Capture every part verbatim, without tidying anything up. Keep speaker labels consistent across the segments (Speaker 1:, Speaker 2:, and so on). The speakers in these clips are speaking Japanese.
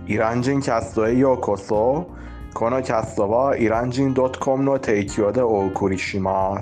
Speaker 1: イラン人キャストへようこそ。このキャストはイラン人 .com の提供でお送りします。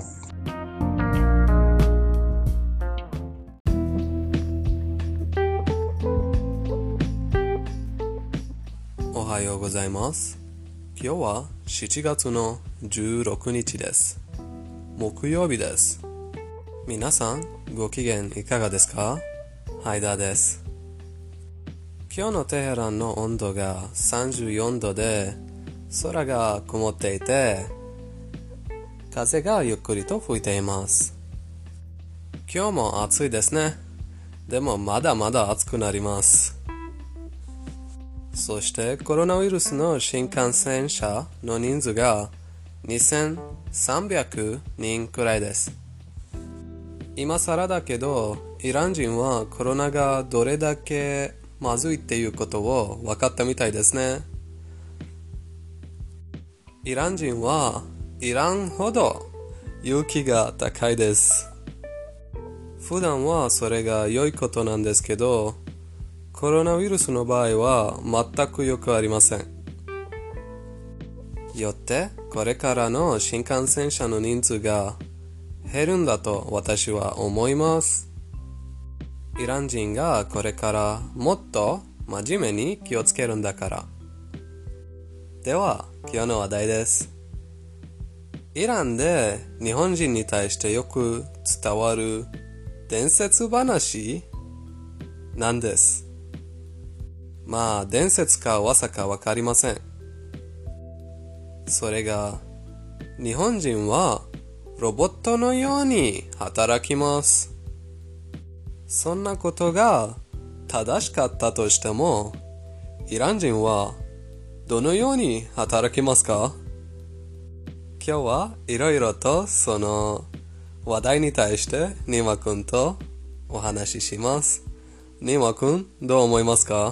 Speaker 2: おはようございます。今日はしちがつのじゅうろくにちです。木曜日です。皆さんご機嫌いかがですか？ハイダーです。今日のテヘランの温度がさんじゅうよんどで空が曇っていて風がゆっくりと吹いています。今日も暑いですね。でもまだまだ暑くなります。そしてコロナウイルスの新感染者の人数がにせんさんびゃくにんくらいです。今更だけどイラン人はコロナがどれだけまずいっていうことを分かったみたいですね。イラン人はイランほど勇気が高いです。普段はそれが良いことなんですけど、コロナウイルスの場合は全くよくありません。よってこれからの新感染者の人数が減るんだと私は思います。イラン人がこれからもっと真面目に気をつけるんだから。では今日の話題です。イランで日本人に対してよく伝わる伝説話なんです。まあ伝説か噂かわかりません。それが日本人はロボットのように働きます。そんなことが正しかったとしても、イラン人はどのように働きますか？今日はいろいろとその話題に対してニマ君とお話しします。ニマ君、どう思いますか？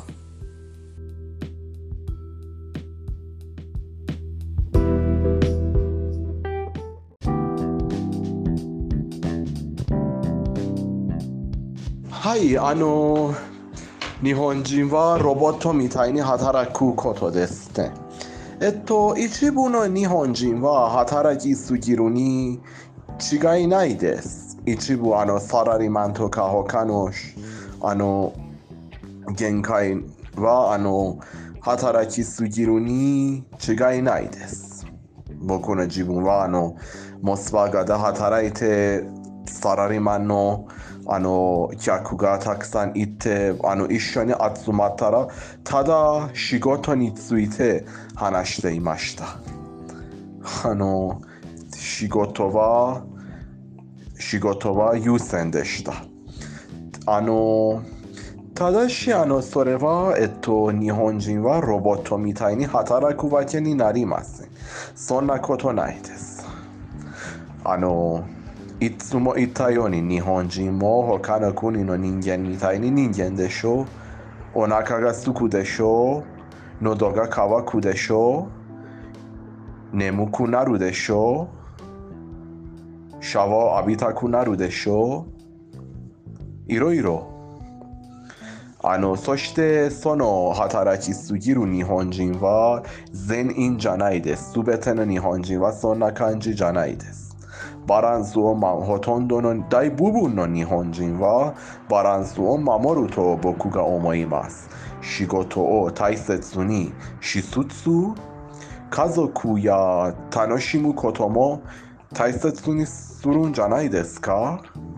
Speaker 1: はい、あの日本人はロボットみたいに働くことですね。えっと一部の日本人は働きすぎるに違いないです。一部あのサラリーマンとか他のあの限界はあの働きすぎるに違いないです。僕の自分はあのモスバガで働いてサラリーマンのあの客がたくさんいてあの一緒に集まったらただ仕事について話していました。あの仕事は仕事は優先でした。あのただしあのそれはえっと日本人はロボットみたいに働くわけになりません。そんなことないです。あのいつも言ったように日本人も他の国の人間みたいに人間でしょう。お腹がすくでしょう。喉が渇くでしょう。眠くなるでしょう。シャワーを浴びたくなるでしょう。いろいろ。あのそしてその働きすぎる日本人は全員じゃないです。すべての日本人はそんな感じじゃないです。バランスを、ま、ほとんどの大部分の日本人はバランスを守ると僕が思います。仕事を大切にしつつ家族や楽しむことも大切にするんじゃないですか？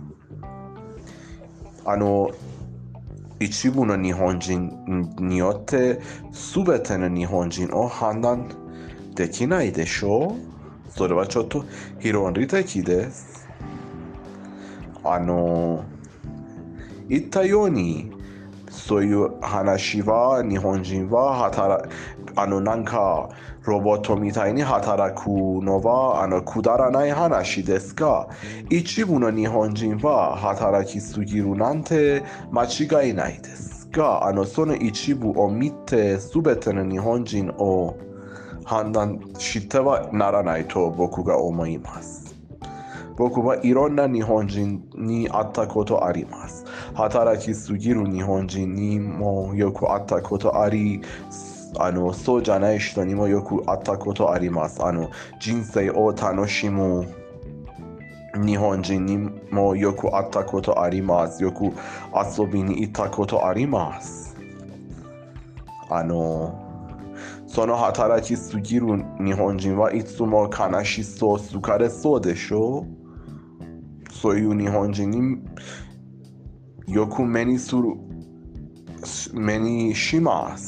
Speaker 1: あの一部の日本人によって全ての日本人を判断できないでしょう。それはちょっと論理的です。あの言ったようにそういう話は日本人は働あのなんかロボットみたいに働くのはあのくだらない話ですが、一部の日本人は働きすぎるなんて間違いないですが、あのその一部を見て全ての日本人を判断してはならないと僕が思います。 僕はいろんな日本人に会ったことあります。働きすぎる日本人にもよく会ったことあり、あのそうじゃない人にもよく会ったことあります。あの人生を楽しむ日本人にもよく会ったことあります。よく遊びに行ったことあります。あのその働きすぎる日本人はいつも悲しそう、疲れそうでしょ。そういう日本人によく目にする、目にします。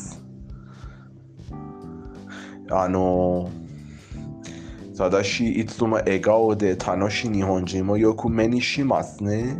Speaker 1: あのただしいつも笑顔で楽しい日本人もよく目にしますね。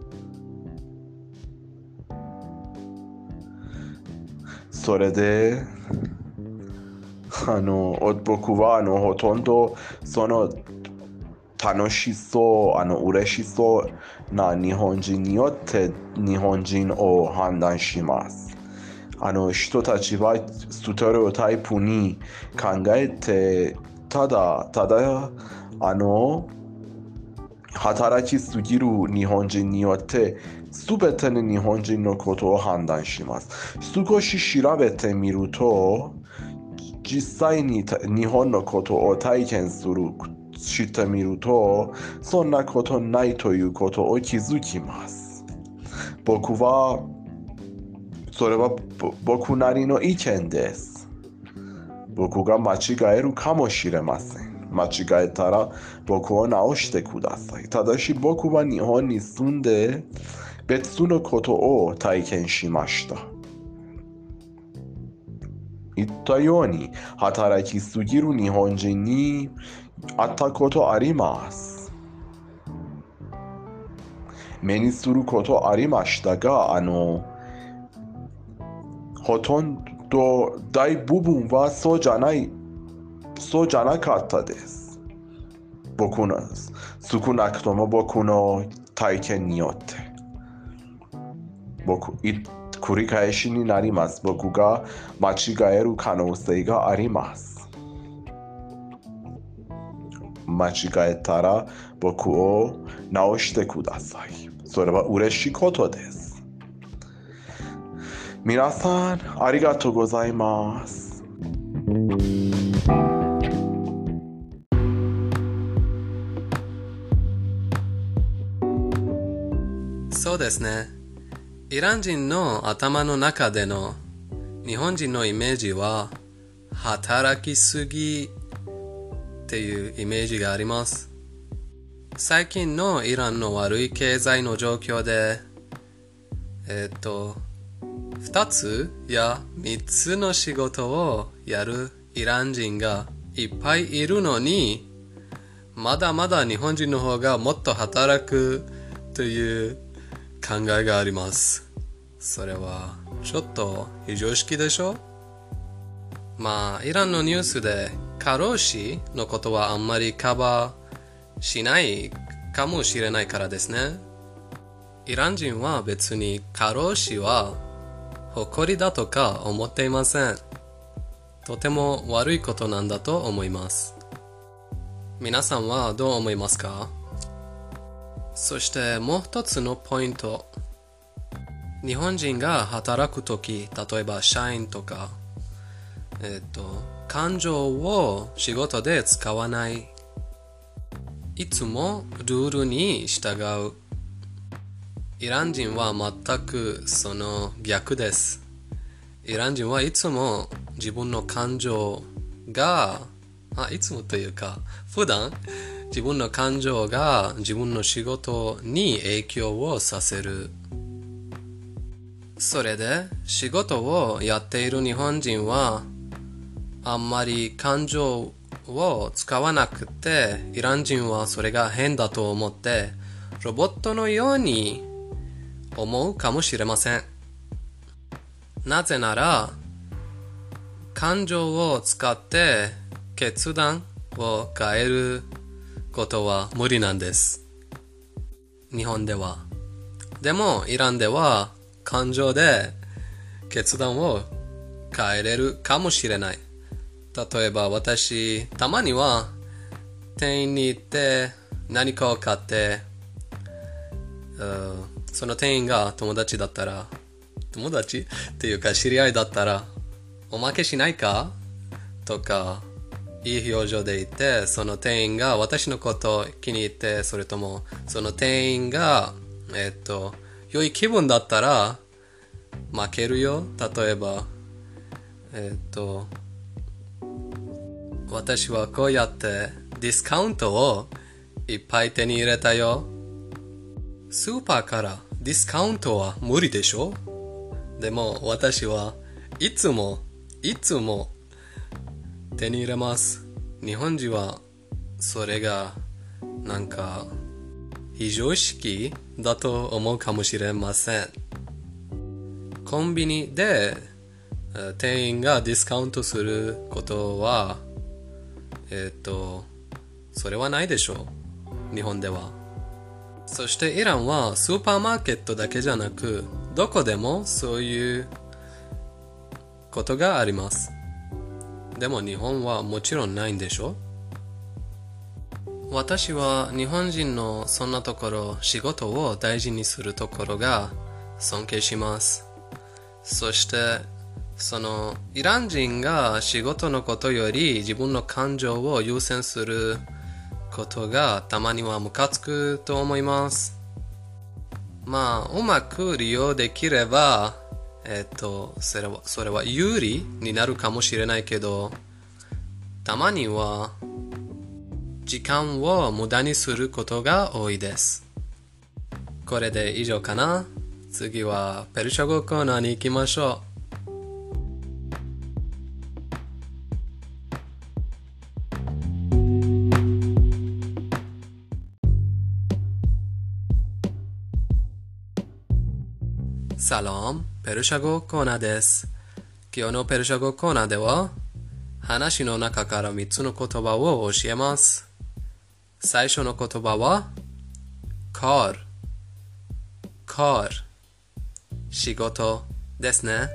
Speaker 1: それであの僕はあのほとんどその楽しそう、あの嬉しそうな日本人によって日本人を判断します。あの人たちはステレオタイプに考えてただただあの働きすぎる日本人によって全ての日本人のことを判断します。少し調べてみると実際に日本のことを体験するしてみるとそんなことないということを気づきます。僕はそれは僕なりの意見です。僕が間違えるかもしれません。間違えたら僕を直してください。ただし僕は日本に住んで別のことを体験しました。言ったように働きすぎる日本人に会ったことあります。目にすることありましたが、あのほとんど大部分はそうじゃないそうじゃなかったです。僕の少なくとも僕の体験によって僕繰り返しになります。僕が間違える可能性があります。間違えたら僕を直してください。それは嬉しいことです。皆さんありがとうございます。
Speaker 2: そうですね。イラン人の頭の中での日本人のイメージは働きすぎっていうイメージがあります。最近のイランの悪い経済の状況でえっと二つや三つの仕事をやるイラン人がいっぱいいるのにまだまだ日本人の方がもっと働くという考えがあります。それはちょっと非常識でしょ。まあイランのニュースで過労死のことはあんまりカバーしないかもしれないからですね。イラン人は別に過労死は誇りだとか思っていません。とても悪いことなんだと思います。皆さんはどう思いますか？そしてもう一つのポイント。日本人が働くとき、例えば社員とか、えっと、感情を仕事で使わない。いつもルールに従う。イラン人は全くその逆です。イラン人はいつも自分の感情が、あ、いつもというか、普段自分の感情が自分の仕事に影響をさせる。それで仕事をやっている日本人はあんまり感情を使わなくて、イラン人はそれが変だと思ってロボットのように思うかもしれません。なぜなら感情を使って決断を変えることは無理なんです。日本では。でもイランでは感情で決断を変えれるかもしれない。例えば私たまには店員に行って何かを買って、その店員が友達だったら、友達っていうか知り合いだったら、おまけしないかとか、いい表情で言って、その店員が私のことを気に入って、それともその店員が、えっと、良い気分だったら、負けるよ。例えば、えっと、私はこうやってディスカウントをいっぱい手に入れたよ。スーパーからディスカウントは無理でしょ？でも私はいつもいつも手に入れます。日本人はそれがなんか非常識だと思うかもしれません。コンビニで店員がディスカウントすることはえっとそれはないでしょう、日本では。そしてイランはスーパーマーケットだけじゃなくどこでもそういうことがあります。でも日本はもちろんないんでしょ。私は日本人のそんなところ、仕事を大事にするところが尊敬します。そしてそのイラン人が仕事のことより自分の感情を優先することがたまにはムカつくと思います。まあうまく利用できればえっとそれはそれは有利になるかもしれないけど、たまには時間を無駄にすることが多いです。これで以上かな。次はペルシャ語コーナーに行きましょう。サロン、ペルシャ語コーナーです。今日のペルシャ語コーナーでは話の中からみっつの言葉を教えます。最初の言葉はカール、カール、仕事ですね。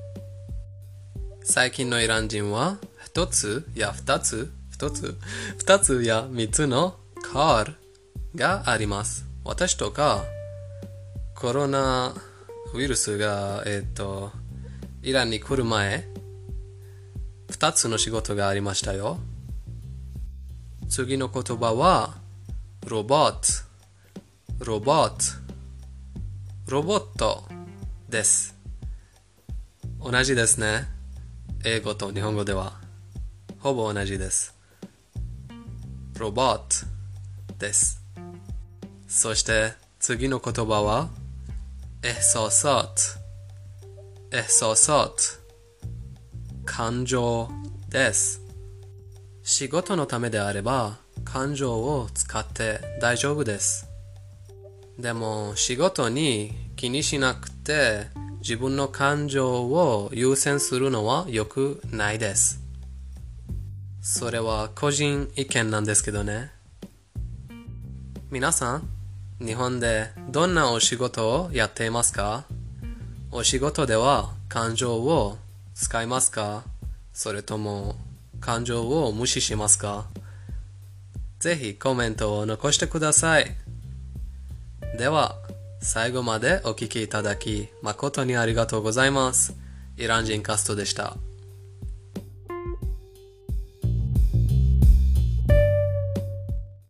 Speaker 2: 最近のイラン人は一つや二つ、一つ、二つや三つのカールがあります。私とかコロナウイルスが、えっと、イランに来る前、二つの仕事がありましたよ。次の言葉は、ロボット、ロボット、ロボットです。同じですね。英語と日本語では、ほぼ同じです。ロボットです。そして次の言葉は、احساسات احساسات 感情です。仕事のためであれば感情を使って大丈夫です。でも仕事に気にしなくて自分の感情を優先するのは良くないです。それは個人意見なんですけどね。皆さん日本でどんなお仕事をやっていますか？お仕事では感情を使いますか？それとも感情を無視しますか？ぜひコメントを残してください。では、最後までお聞きいただき誠にありがとうございます。イラン人カストでした。